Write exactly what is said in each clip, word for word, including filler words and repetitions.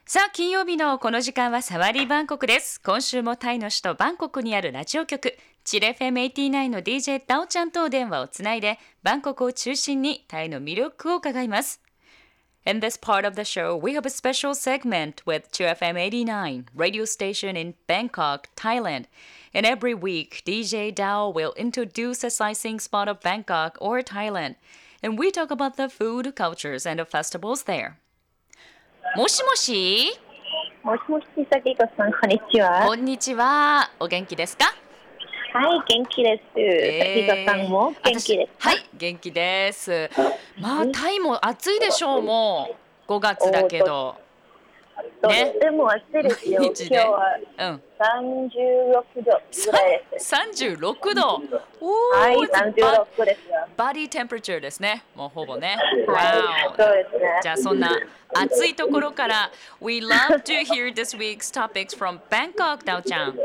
さあ金曜日のこの時間はサワリーバンコクです。今週もタイの首都バンコクにあるラジオ局チル エフエムはちじゅうきゅう の ディージェー ダオちゃんと電話をつないでバンコクを中心にタイの魅力を伺います。In this part of the show, we have a special segment with Chill エフエムはちじゅうきゅう radio station in Bangkok, Thailand. And every week, ディージェー Dao will introduce a sightseeing spot of Bangkok or Thailand. And we talk about the food, cultures, and the festivals there. もしもしもしもし、さきこさん、こんにちは。 こんにちは。お元気ですか？ はい、元気です。 えー、 さきこさんも元気ですか？ はい、元気です。まあ、タイも暑いでしょう、もう。ごがつだけど。 とっても暑いですよ。今日はさんじゅうろくどぐらいです。 さんじゅうろくど。 おー、はい、さんじゅうろくですよ。 バディテンプレチャーですね。もうほぼね。 はい、そうですね。 じゃあそんな暑いところから We love to hear this week's topics from Bangkok, Daoちゃん。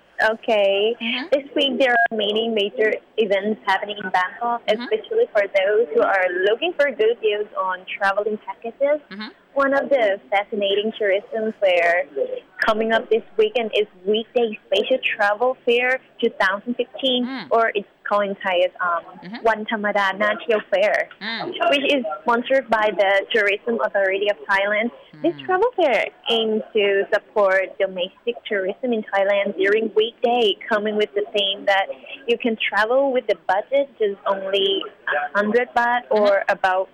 Okay. Mm-hmm. This week there are many major events happening in Bangkok, mm-hmm. especially for those who are looking for good deals on traveling packages. Mm-hmm. One of the fascinating tourism fair coming up this weekend is Weekday Spatial Travel Fair twenty fifteen, mm. or it's called in Thai as um, mm-hmm. One Thamada Natio Fair, mm. which is sponsored by the Tourism Authority of Thailand. Mm. This travel fair aims to support domestic tourism in Thailand during weekday, coming with the theme that you can travel with the budget just only one hundred baht or mm-hmm. about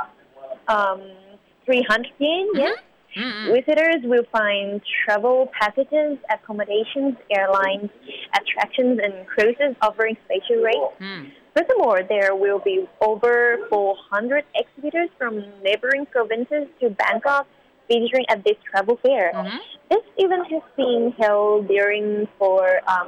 um, three hundred yen, mm-hmm. yes. Mm-hmm. Visitors will find travel packages, accommodations, airlines, attractions, and cruises offering special rates. Mm. Furthermore, there will be over four hundred exhibitors from neighboring provinces to Bangkok featuring at this travel fair. Mm-hmm. This event has been held during for um,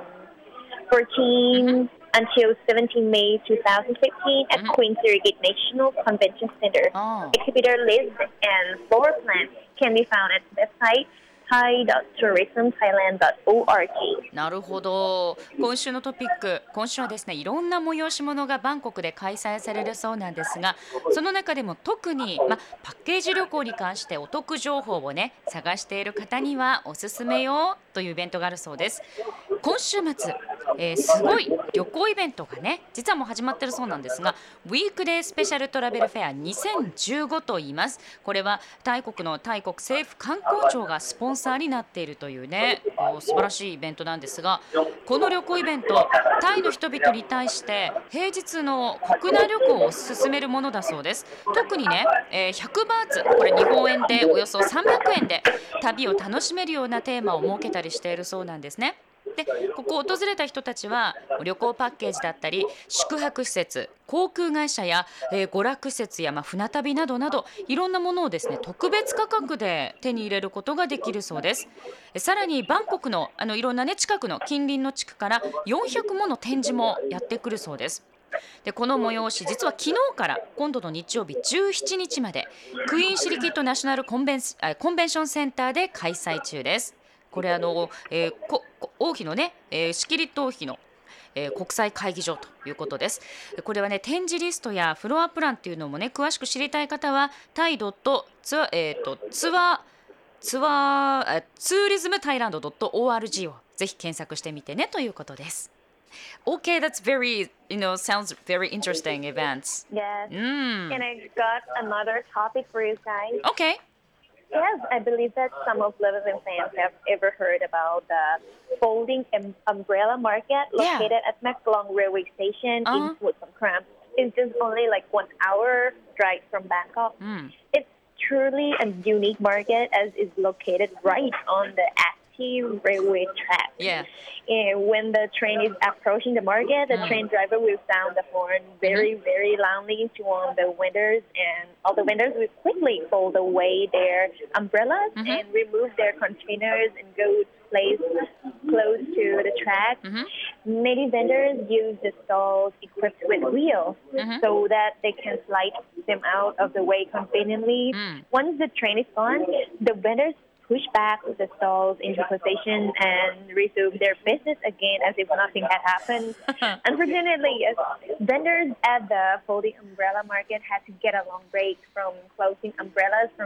fourteen mm-hmm. until seventeenth May twenty fifteen at mm-hmm. Queen Sirikit National Convention Center. Oh. Exhibitor list and floor plan can be found at the website thai dot tourism thailand dot org。 なるほど。今週のトピック、今週はですね、いろんな催し物がバンコクで開催されるそうなんですが、その中でも特に、ま、パッケージ旅行に関してお得情報をね探している方にはおすすめよというイベントがあるそうです。今週末、えー、すごい旅行イベントがね実はもう始まってるそうなんですが、ウィークデースペシャルトラベルフェアにせんじゅうごと言います。これはタイ国のタイ国政府観光庁がスポンサーになっているというね素晴らしいイベントなんですが、この旅行イベントタイの人々に対して平日の国内旅行を進めるものだそうです。特にね、えー、ひゃくバーツ、これ日本円でおよそさんびゃくえんで旅を楽しめるようなテーマを設けたりしているそうなんですね。でここを訪れた人たちは旅行パッケージだったり宿泊施設、航空会社や、えー、娯楽施設や、まあ、船旅などなどいろんなものをですね特別価格で手に入れることができるそうです。さらにバンコクの、あのいろんなね近くの近隣の地区からよんひゃくもの展示もやってくるそうです。でこの催し実は昨日から今度の日曜日じゅうしちにちまでクイーンシリキットナショナルコンベン、コンベンションセンターで開催中です。これあの、えー、こ王妃のね、えー、シキリット王妃の、えー、国際会議場ということです。これはね展示リストやフロアプランっていうのもね詳しく知りたい方はタイドットツアー、えー、とツアーツアーツーリズムタイランド .org をぜひ検索してみてねということです。Okay, that's very, you know, sounds very interesting events. Yes. Mm. And I got another topic for you guys. Okay. Yes, I believe that some of lovers and fans have ever heard about the folding um, umbrella market located yeah. at Maklong Railway Station uh-huh. in Samut Songkhram. It's just only like one hour drive from Bangkok. Mm. It's truly a unique market as it's located right on the active railway track. Yeah. And when the train is approaching the market, the mm. train driver will sound the horn very, mm-hmm. very loudly to warn the vendors, and all the vendors will quickly fold away their umbrellas mm-hmm. and remove their containers and go place close to the track. Mm-hmm. Many vendors use the stalls equipped with wheels mm-hmm. so that they can slide them out of the way conveniently. Mm. Once the train is gone, the vendors push back the stalls into position and resume their business again as if nothing had happened. Unfortunately, yes, vendors at the folding umbrella market had to get a long break from closing umbrellas from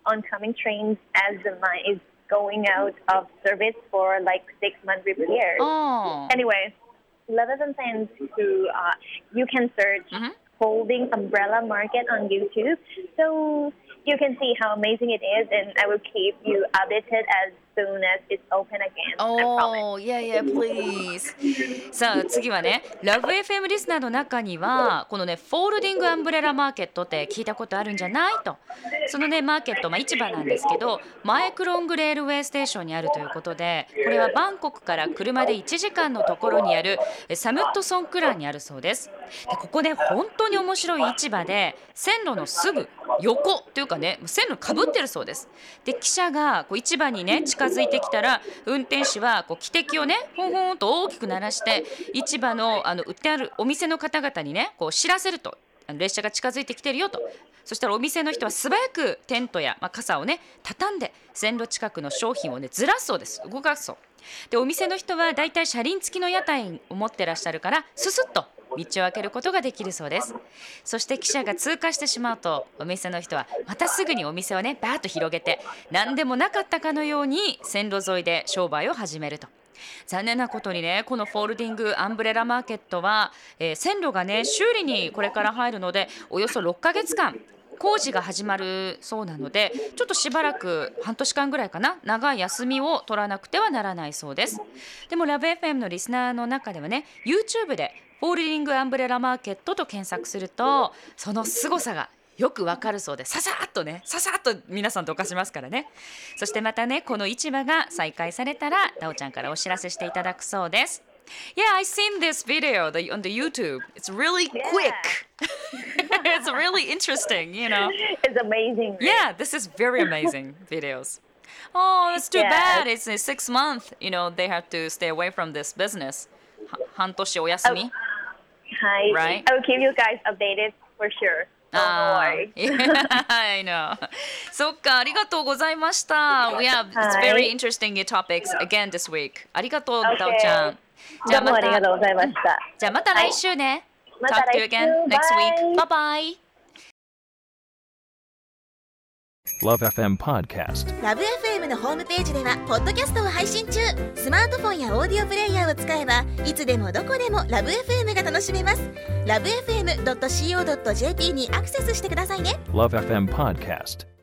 oncoming trains as the line is going out of service for like six month repairs. Oh. Anyway, Love F M fans who uh, you can search mm-hmm. Folding Umbrella Market on YouTube, so you can see how amazing it is, and I will keep you updated as soon as it's open again. Oh, yeah, yeah, please. さあ次はね、ラブ エフエム リスナーの中にはこのね、フォールディングアンブレラマーケットって聞いたことあるんじゃないと。そのね、マーケット、まあ、市場なんですけど、マイクロングレールウェイステーションにあるということで、これはバンコクから車でいちじかんのところにあるサムットソンクランにあるそうです。でここね、本当に面白い市場で、線路のすぐ横というかね、線路かぶってるそうです。で記者がこう市場にね近づいてきたら、運転手はこう汽笛をねホンホンと大きく鳴らして、市場のあの売ってあるお店の方々にねこう知らせると、列車が近づいてきてるよと。そしたらお店の人は素早くテントや、まあ、傘をね畳んで線路近くの商品をねずらすそうです。動かすそうで、お店の人はだいたい車輪付きの屋台を持ってらっしゃるから、ススッと道を開けることができるそうです。そして汽車が通過してしまうと、お店の人はまたすぐにお店をねバーッと広げて、何でもなかったかのように線路沿いで商売を始めると。残念なことにね、このフォールディングアンブレラマーケットは、えー、線路がね修理にこれから入るので、およそろっかげつかん工事が始まるそうなので、ちょっとしばらく半年間ぐらいかな、長い休みを取らなくてはならないそうです。でもラブ エフエム のリスナーの中ではね、 YouTube でフォールディングアンブレラマーケットと検索すると、その凄さがよくわかるそうで、ささっとねささっと皆さんどかしますからね。そしてまたね、この市場が再開されたらダオちゃんからお知らせしていただくそうです。Yeah, I seen this video the, on the YouTube. It's really yeah. quick. It's really interesting, you know. It's amazing. Yeah, this is very amazing videos. Oh, it's too yeah. bad. It's a six month, you know, they have to stay away from this business. 半年お休み。 Hi. Right? I will keep you guys updated for sure. Don't worry. I know. そっか、ありがとうございました。Yeah, it's very interesting topics again this week. ありがとう、ダオちゃん。 じゃあまた、どうもありがとうございました。 じゃあまた来週ね。 また Talk to you again next week. Bye bye. Love エフエム Podcast。 ラブ エフエム のホームページではポッドキャストを配信中。スマートフォンやオーディオプレイヤーを使えば、いつでもどこでもラブ エフエム が楽しめます。ラブエフエムドットシーオードットジェーピー にアクセスしてくださいね。 Love エフエム Podcast。